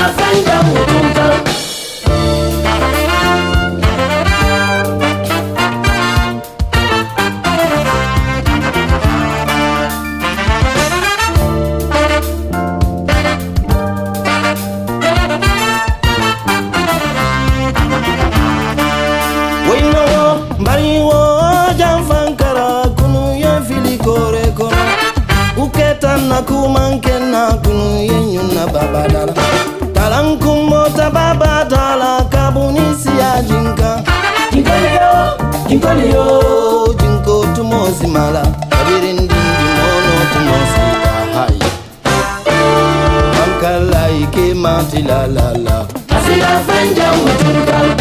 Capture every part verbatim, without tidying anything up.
fenda mutunta. Kumankena kunu yenyuna babadala talankumo tababa tala kabunisi ya jinka Jinkoliyo, jinkoliyo, jinko tumosi mala kabirindi mono tumosi kahai Mankala ike mati la la la asila fenda mutunta.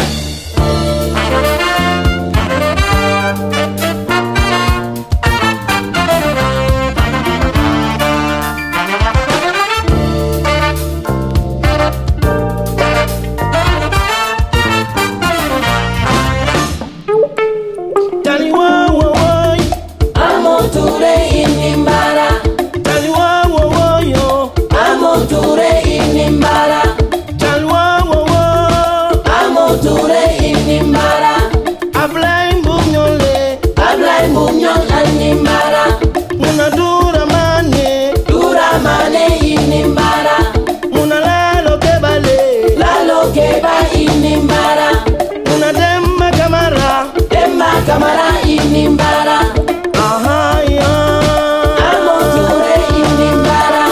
Kamara inimbara, aha ya, amoture inimbara.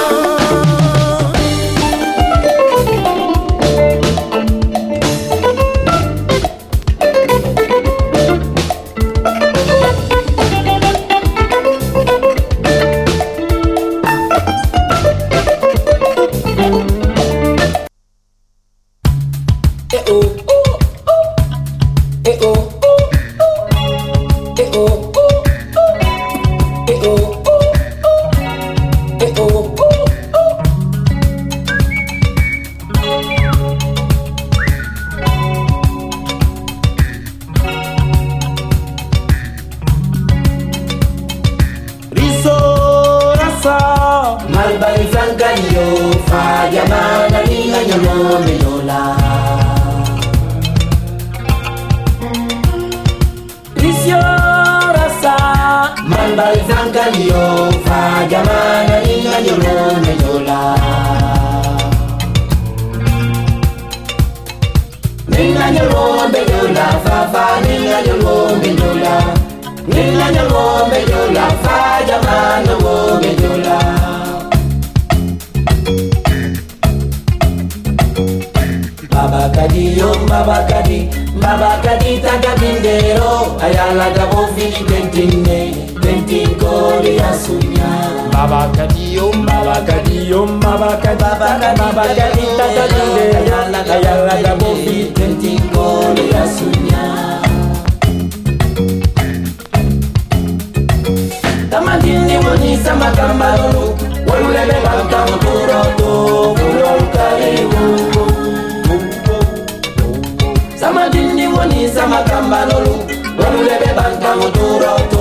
Eh oh, eh oh. Malbari Francanio, fa chiamare la mia nome Lola. Risio Rasa, Malbari Francanio, fa chiamare la mia nome Lola. Nella mia nome Lola, fa fa nella mia nome Lola. Nella mia nome Lola, fa chiamare la nome Lola. Babakadi yo babakadi babakadi tagabindero ayala gabo fili tentine tentinko riasunya babakadi yo babakadi yo babakadi babakadi tagabindero ayala ayala gabo fili tentinko riasunya tamadini woni sama kambalo wolulebe bantam turoto ulolkariwu Samadini woni sama kambalolu Walulebe banka muturo